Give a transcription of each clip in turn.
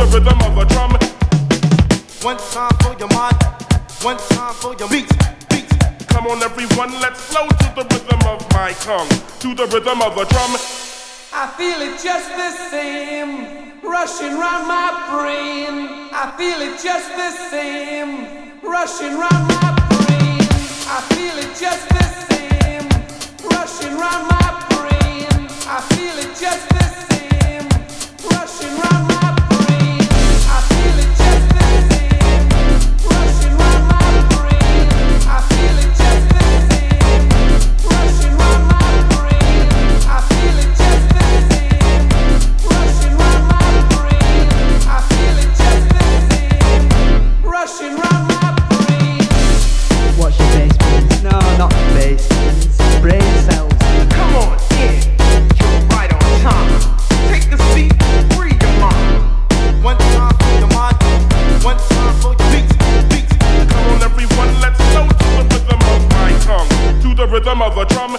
the rhythm of a drum. One time for your mind, one time for your beat. Come on everyone, let's flow to the rhythm of my tongue, to the rhythm of a drum. I feel it just the same, rushing round my brain. I feel it just the same, rushing round my brain. I feel it just the same, rushing round my brain. I feel it just the same, rushing round my brain. I feel it just the same, rushing round my brain. I feel it just the same, rushing round my brain. I feel it just the same, rushing round my brain. I feel it just the same, rushing round my brain. What's your bass, please? No, not bass. Brain cells. Come on in, you're right on time. Take the seat, free your mind. One time for your mind, one time for your beat. Come on everyone, let's flow to the rhythm of my tongue, to the rhythm of a drum.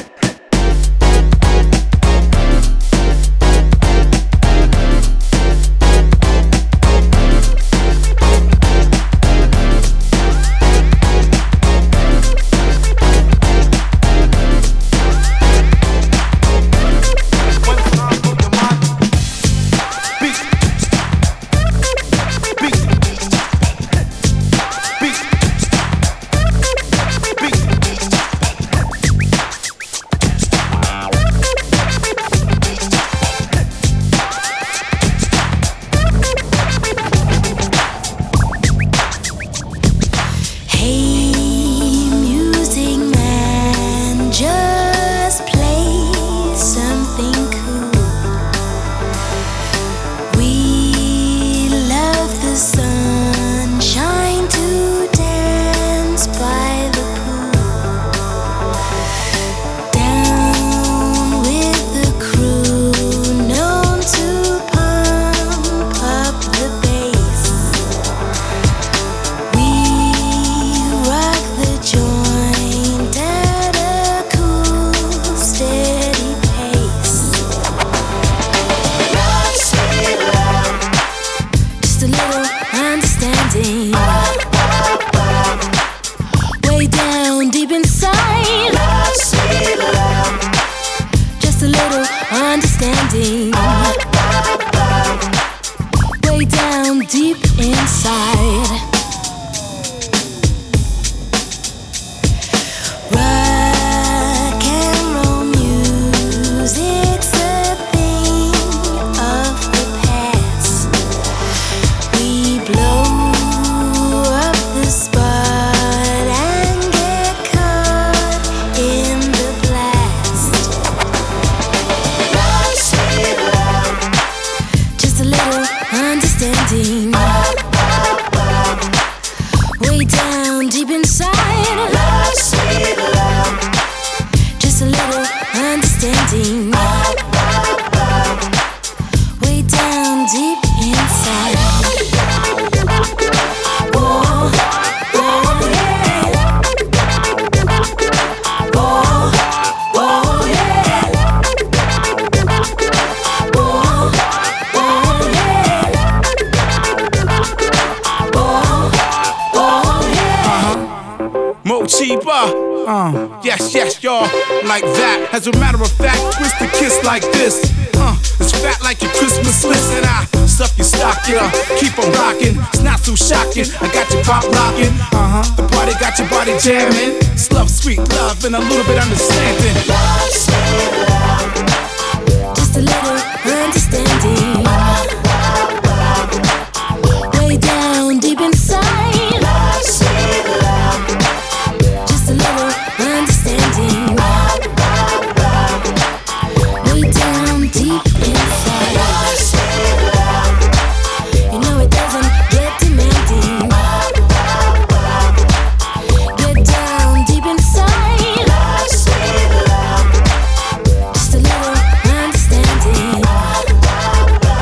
Yes, y'all, like that. As a matter of fact, twist the kiss like this. It's fat like your Christmas list, and I stuff your stocking, keep on rocking. It's not so shocking. I got your pop locking. The party got your body jamming. It's love, sweet love, and a little bit understanding. Love, sweet love, just a little understanding. Way down deep inside. Love, sweet love, just a little understanding. Way down deep inside. Love, sweet love, you know it doesn't get demanding. Get down deep inside. Love, sweet love, just a little understanding.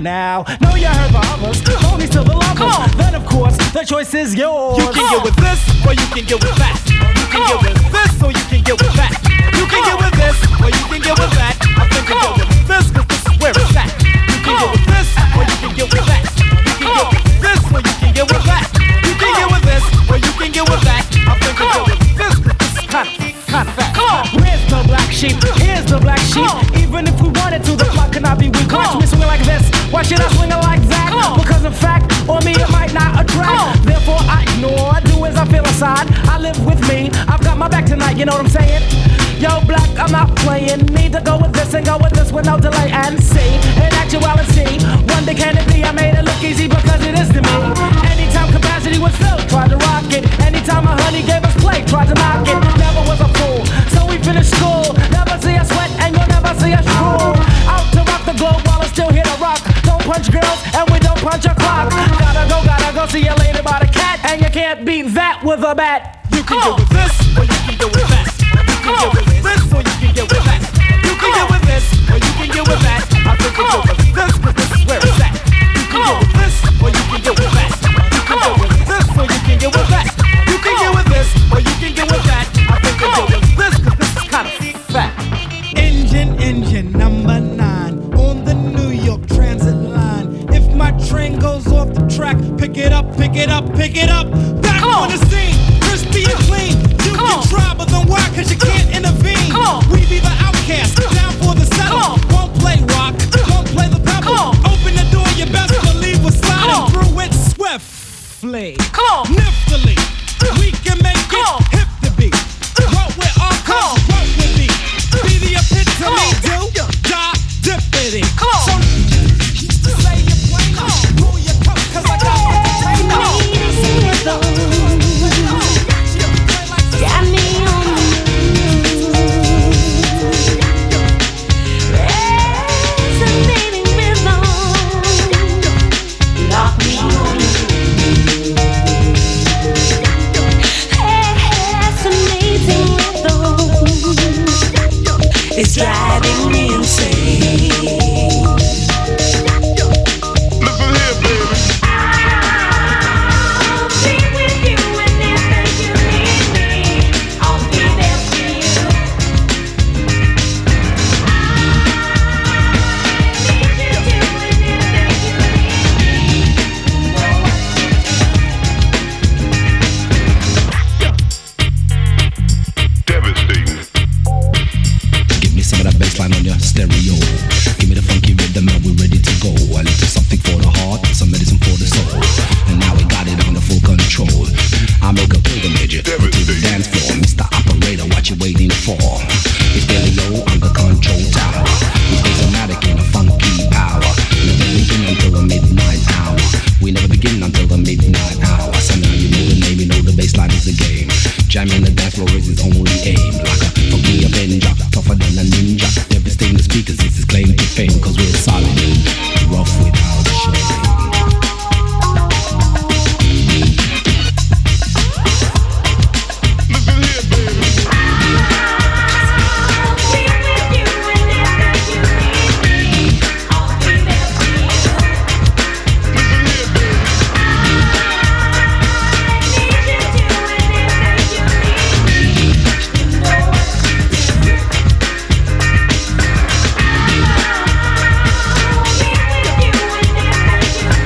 now. Know you heard the others, only to the lovers. Then of course, the choice is yours. You can get with this, or you can get with that. You can get with this, or you can get with that. You can get with this, or you can get with that. I think you get with this, cause this is where it's at. You can get with this, or you can get with that. You can get with this, or you can get with that. You can get with this, or you can get with that. I think you get with this, cause this is kind of fat. Where's the black sheep? Here's the black sheep. Even if we wanted to, the clock cannot be weak. Watch me swing like this. Why should I swing it like that? Because in fact, on me it might not attract. Therefore I ignore, I do as I feel aside. I live with me, I've got my back tonight, you know what I'm saying? Yo, black, I'm not playing. Need to go with this and go with this with no delay and see. In actuality, one day can it be? I made it look easy because it is to me. Anytime capacity was filled, tried to rock it. Anytime a honey gave us play, tried to knock it. Never was a fool, so we finished school. Never see us sweat and you'll never see us drool. Out to rock the globe while it's still here to rock. Don't punch girls and we don't punch a clock. Gotta go see you later by the cat. And you can't beat that with a bat. You can get with this, or you can get with that. You can get with this, or you can get with that. You can get with this, or you can get with that. I think you get with this, cause this is where it's at. You can get with this, or you can get with that. You can get with this, or you can get with that. You can get with this, or you can get with that. I think you get with this, cause this is kind of fat. Engine number 9 on the New York Transit line. If my train goes off the track, pick it up, pick it up, pick it up. Back on the scene, crispy and clean. You can try, but then why? Cause you can't intervene. We be the outcast, down for the settle. Won't play rock, won't play the pebble. Open the door, you best believe we're sliding through it swiftly. Niftily, we can make it hip to beat. What with our cause, what with me. Be the epitome, do, die, dippity. So, say your plain, pull your coat, cause I got what to take. Got me on the move. Resonating rhythm. Lock me on the fascinating rhythm. It's driving me insane. Listen here, baby. I'll be with you whenever you need me. I'll be there for you. I need you to whenever you Devastating. Give me some of that bassline on your stereo. Give me the funky rhythm and we're ready to go. A little something for the heart, some medicine for the soul. And now we got it under full control. I make a pilgrimage to the dance floor. Mr. Operator, what you waiting for? It's Stereo on the control tower. We stay somatic in a funky power. Never begin until the midnight hour. We never begin until the midnight hour. So now you know the name, you know the bassline is the game. Jamming the dance floor is his only aim. Like a funky avenger, tougher than a ninja. Devastating the speakers, it's his claim to fame. Cause we're solid, rough without shame. Listen here, baby. I'll be with you whenever you need me. I'll be there for you. Listen here, baby. I need you to whenever you need me. You know what to do. I'll be with you whenever you need me.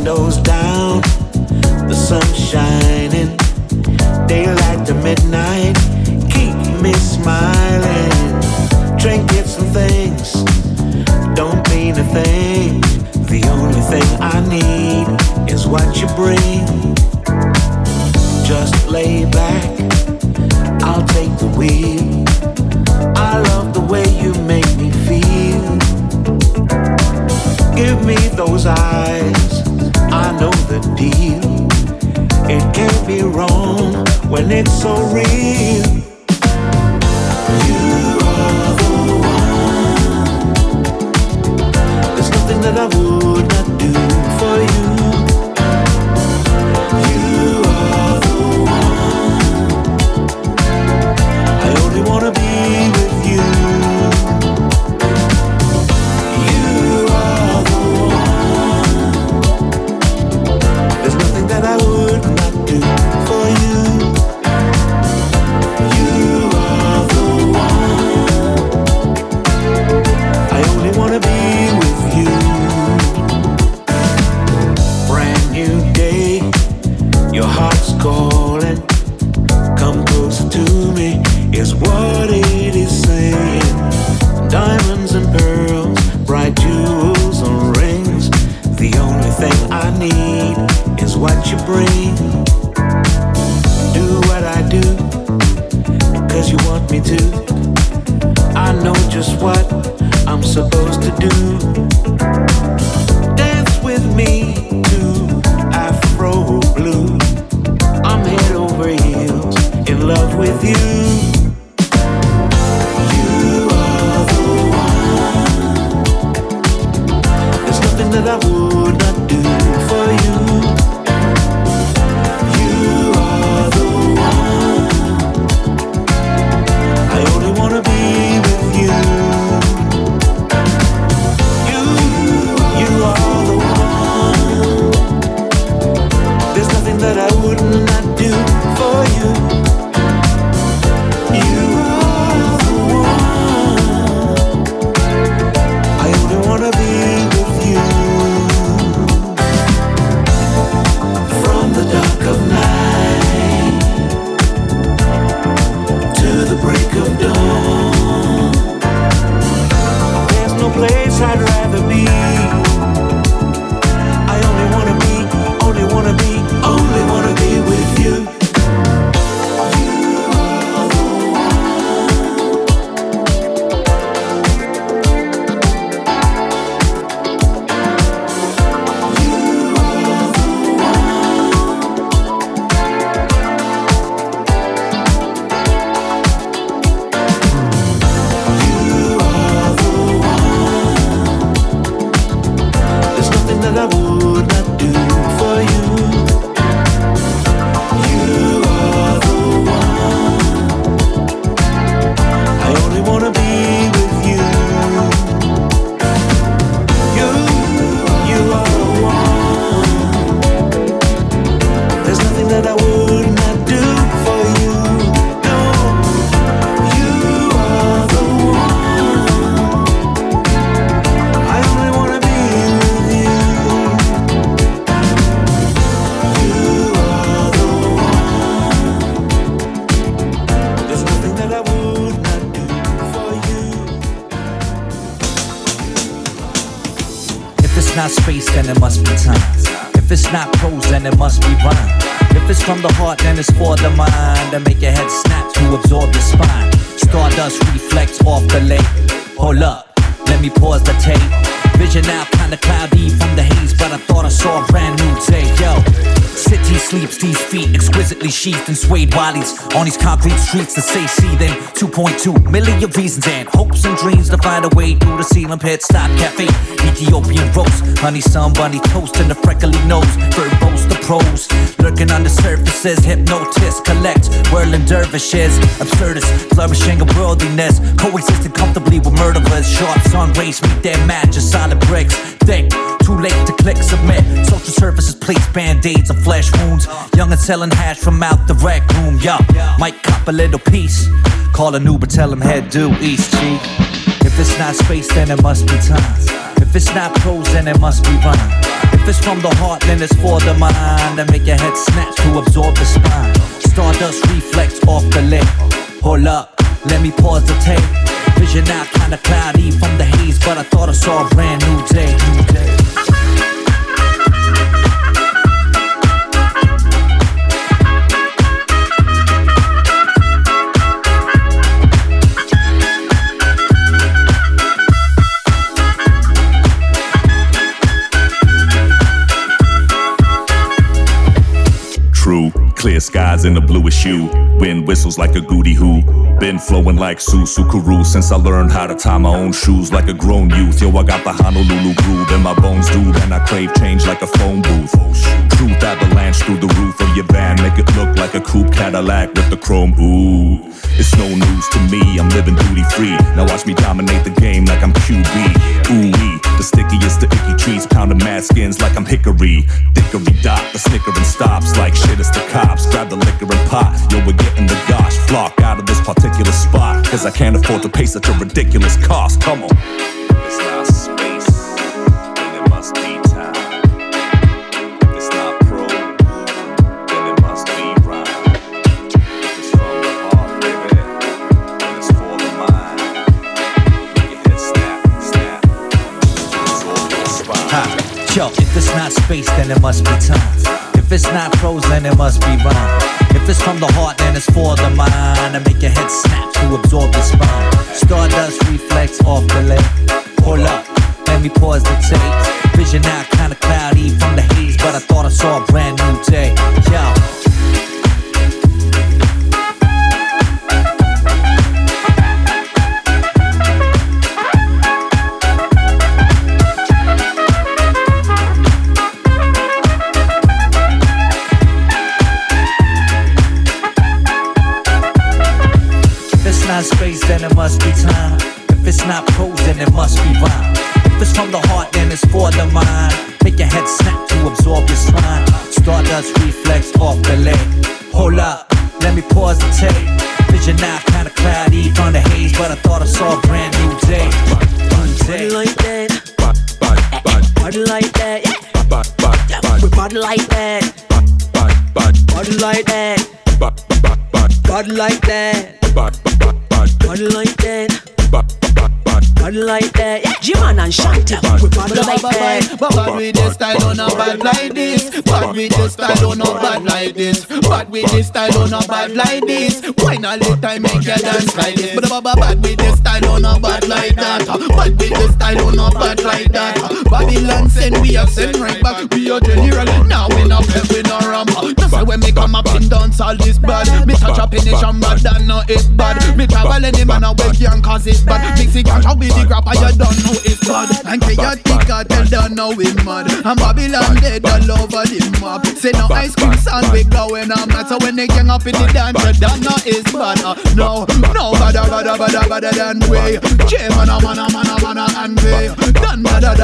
windows down, the sun shining, daylight to midnight, keep me smiling. Trinkets and things don't mean a thing. The only thing I need is what you bring. Just lay back, I'll take the wheel. I love the way you make me feel. Give me those eyes, I know the deal. It can't be wrong when it's so real. You are the one. There's nothing that I would not do for you. You are the one. I only wanna be with you. You are the one. There's nothing that I would not do for you. You are the one. I only wanna be with you. Brand new day, your heart's calling. Come closer to me, is what it is saying. Diamonds and pearls, bright jewels and rings. The only thing I need is what you bring. Do what I do, 'cause you want me to. I know just what I'm supposed to do. Dance with me to Afro Blue. I'm head over heels in love with you. You are the one. There's nothing that I would not do for you. You are the one. I only wanna be with you. You are the one. There's nothing that I would not do for you. You are the one. I only wanna be with you. From the dark of night to the break of dawn, there's no place I'd rather be. I only wanna be, only wanna be, only wanna be with you. There's nothing that I would not do for you. You are the one. I only wanna be with you. You are the one. There's nothing that I would not do for you. No, you are the one. I only wanna be with you. You are the one. There's nothing that I would not do for you. If it's not space, then it must be time. If it's not prose, then it must be rhyme. If it's from the heart, then it's for the mind. And make your head snap to absorb your spine. Stardust reflects off the lake. Hold up, let me pause the tape. Vision now kinda cloudy from the haze, but I thought I saw a brand new day. Yo, city sleeps, these feet exquisitely sheathed in suede wallies on these concrete streets that say seething. 2.2 million reasons and hopes and dreams to find a way through the ceiling pit stop cafe. Ethiopian roast, honey sun bunny toast and the freckly nose. Verbose the pros, lurking under surfaces. Hypnotists collect whirling dervishes. Absurdist, flourishing of worldliness, coexisting comfortably with murderers. Sharp sun rays meet their match of solid bricks. Thick, too late to click submit. Social services place band-aids on flesh wounds. Young and selling hash from out the rec room. Yup, might cop a little piece. Call an Uber, tell him head due east, chief. If it's not space, then it must be time. If it's not prose, then it must be rhyme. If it's from the heart, then it's for the mind. And make your head snatch to absorb the spine. Stardust reflex off the lip. Hold up, let me pause the tape. Vision now kinda cloudy from the haze, but I thought I saw a brand new day. True, clear skies in the bluest hue. Wind whistles like a goody hoo. Been flowing like Susukuru since I learned how to tie my own shoes like a grown youth. Yo, I got the Honolulu groove in my bones, dude, and I crave change like a phone booth. Truth avalanche through the roof of your van, make it look like a coupe Cadillac with the chrome. Ooh, it's no news to me. I'm living duty free. Now watch me dominate the game like I'm QB. Ooh-wee, the stickiest the icky trees, pounding mad skins like I'm Hickory. Dickory dot, the snickering stops like shit. It's the cops. Grab the liquor and pot. Yo, we're getting the gosh flock out of this particular spot. Cause I can't afford to pay such a ridiculous cost. Come on. It's not space, then it must be time. If it's not pro, then it must be rhyme. If it's from the heart, baby, then it's for the mind. Make your head snap, snap. Absorb your spine. Yo, if it's not space, then it must be time. If it's not prose, then it must be rhyme. If it's from the heart, then it's for the mind. And make your head snap to absorb the spine. Stardust reflex off the leg. Hold up, let me pause the tape. Vision now kinda cloudy from the haze, but I thought I saw a brand new day. Yo. Space, then it must be time. If it's not prose, then it must be rhyme. If it's from the heart, then it's for the mind. Make your head snap to absorb your spine. Stardust reflex off the leg. Hold up, let me pause the tape. Vision now kinda cloudy from the haze, but I thought I saw a brand new day. Body like that, body like that, we body like that, body like that, body like that. Body like that, body like that. Yeah, G-Man and Shanti, we body like that. But with this style on a bad like this. But with this style on a bad like this. But with this style on a bad like this. Why not let time make you dance like this? But with this style on a bad like that. But with this style on a bad like that. Babylon send we are sent right back. We are general. Now we not pep, we not ram. That's why when me come up in dance all this bad. Me touch up in the bad, that no it's bad. Me travel any man away can cause it's bad. Mixy can shout with the grapper, you don't know it's bad. And Chaotica tell them now we mad. And Babylon dead all over the map. Say no ice cream sand we going on mad. So when they gang up in the dance, you don't know it's bad. No, better than we. J-man, man, and we. Done,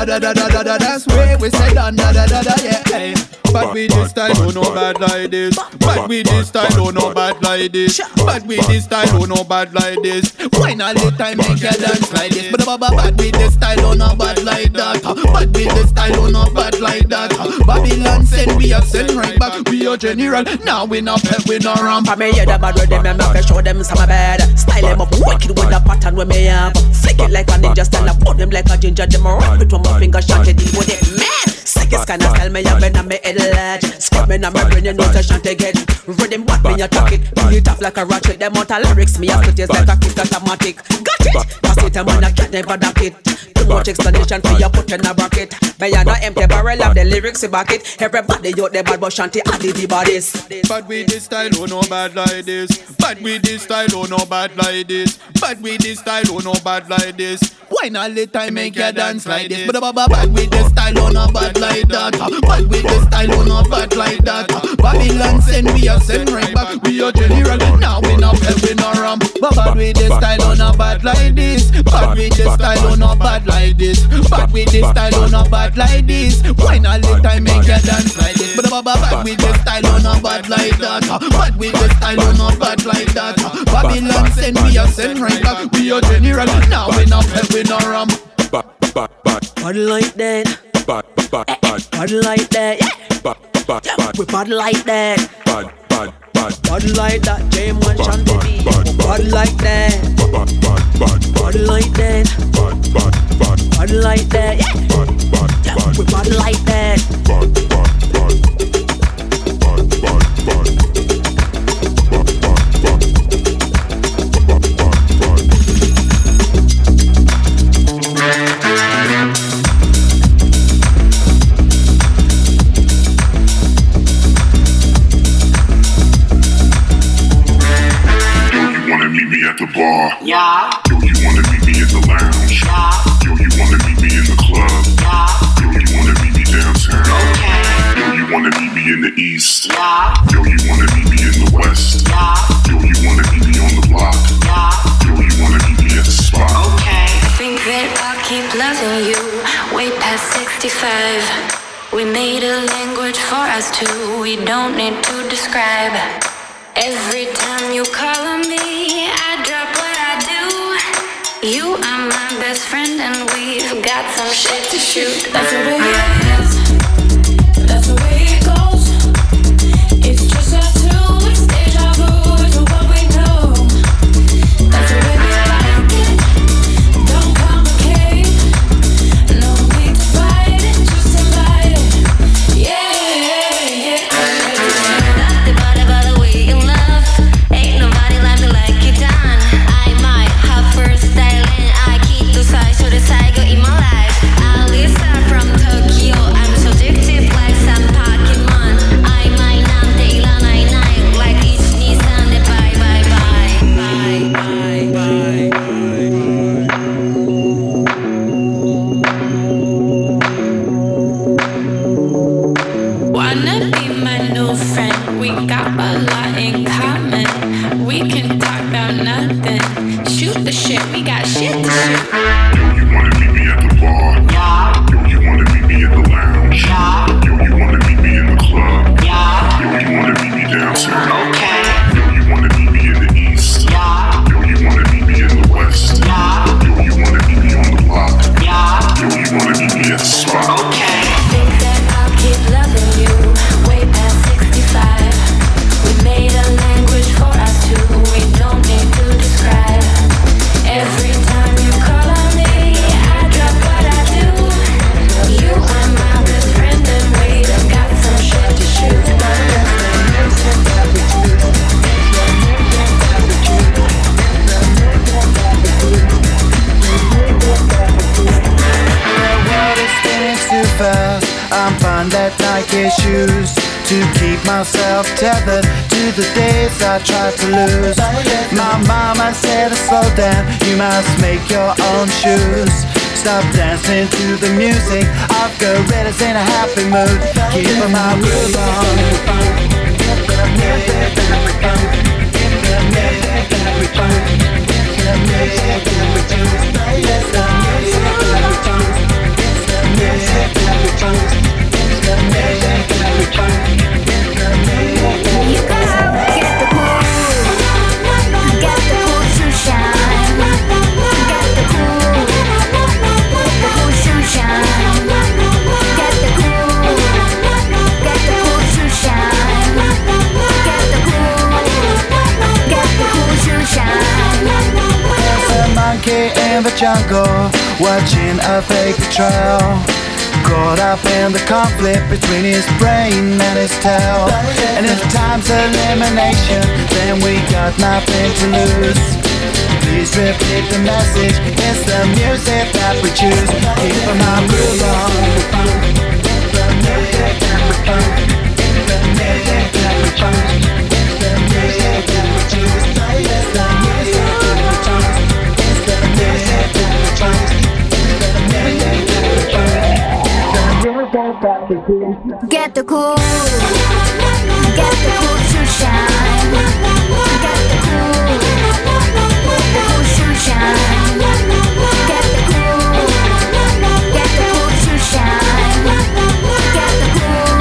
that's way we say done, yeah. But we this style don't know bad like this. But we this style don't know bad like this. But we this style don't know bad like this. Why not let time make you dance like this? But we this style don't know bad like that. But we this style don't know bad like that. Babylon send we are sent right back. We are general. Now we not pep, we not ramp. I may hear the bad with them and I show them some bad. Style them up wicked with the pattern we may have. Flick it like a ninja style, I put them like a ginger. Them rock it with my finger, shot it deep with it, man. Sickest kind of style me have been on me head large. Screaming on my brain, you know the shanty get. Rhythm what me attack it. Pull it off like a ratchet. Them out of lyrics me have to taste like a kick automatic. Got it? Pass it a man I can't never duck it. Too much explanation for you put in a bracket. Me and no empty barrel have the lyrics to back it. Everybody out there bad but shanty added the bodies. But we this style oh no bad like this. But we this style oh no bad like this. But we this style oh no bad like this. Why not let time make you dance like this? But we this style oh no bad like that. But we this style oh no bad like that. Babylon send we are send right back. We are general. Now we not pep, we not ramp. But we this style oh no bad like this. But we this style oh no bad like this. But we this style oh no bad like this. Why not let time make you dance like this? But we this style oh no bad like that. But we this style oh no bad like that. Babylon send we are send right back. We are general. Now we not pep, we not ramp. Bad like that. Bad like that. Yeah. We bad like that. Bad like that. J1 Chantilly. Bad like that. Bad like that. Bad like that. Yeah. We bad like that. Yeah. Yo, you wanna meet me at the lounge? Yeah. Yo, you wanna meet me in the club? Yeah. Yo, you wanna meet me downtown? Okay. Yo, you wanna meet me in the east? Yeah. Yo, you wanna meet me in the west? Yeah. Yo, you wanna meet me on the block? Yeah. Yo, you wanna meet me at the spot? Okay. Think that I'll keep loving you way past 65. We made a language for us two. We don't need to describe. Every time you call on me, I drop what I do. You are my best friend and we've got some shit to shoot. That's the way it is. That's the way it goes. It's just us two. It's deja vu to what we know. That's the way we like it. Don't complicate. No need to fight it. Just invite it. Yeah. Ain't nobody like me like you done. I might have first style and I keep the size so the cycle in my life. Alisa from Tokyo, I'm so addictive like some Pokemon. I might not take la night night like each Nissan. Bye bye bye bye bye bye. Wanna be my new friend? We got a lot in common. We can talk about nothing. Shoot the shit, we got shit to shoot. Yo, you wanna meet me at the bar? Yeah. Yo, you wanna meet me at the lounge? Yeah. Yo, you wanna meet me in the club? Yeah. Yo, you wanna meet me downtown? Okay. Yo, you wanna meet me in the east? Yeah. Yo, you wanna meet me in the west? Yeah. Yo, you wanna meet me on the block? Yeah. Yo, you wanna meet me at the spot? Okay. Think that I'll keep loving you way past 65. We made a language for us two. We don't need to describe. Every time you call on me, I drop what I do. You are my best friend and we've got some shit to shoot. Too fast, I'm fine that Nike shoes to keep myself tethered to the days I tried to lose. My mama said to slow down, you must make your own shoes. Stop dancing to the music of gorillas in a happy mood. Keep my groove on. In the jungle, watching a fake betrayal, caught up in the conflict between his brain and his tail. And if time's elimination, then we got nothing to lose. Please repeat the message, it's the music that we choose. Keep my groove on. Get the cool, get the cool to shine. Get the cool to shine. Get the cool to shine. Get the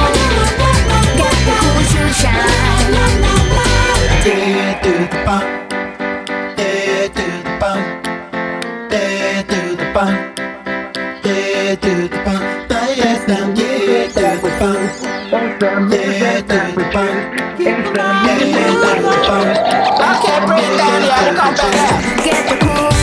cool to shine. Yeah, do the bump. Yeah, do the bump. Yeah, do the bump. Okay, bring it down, y'all. Come back. Get the cool.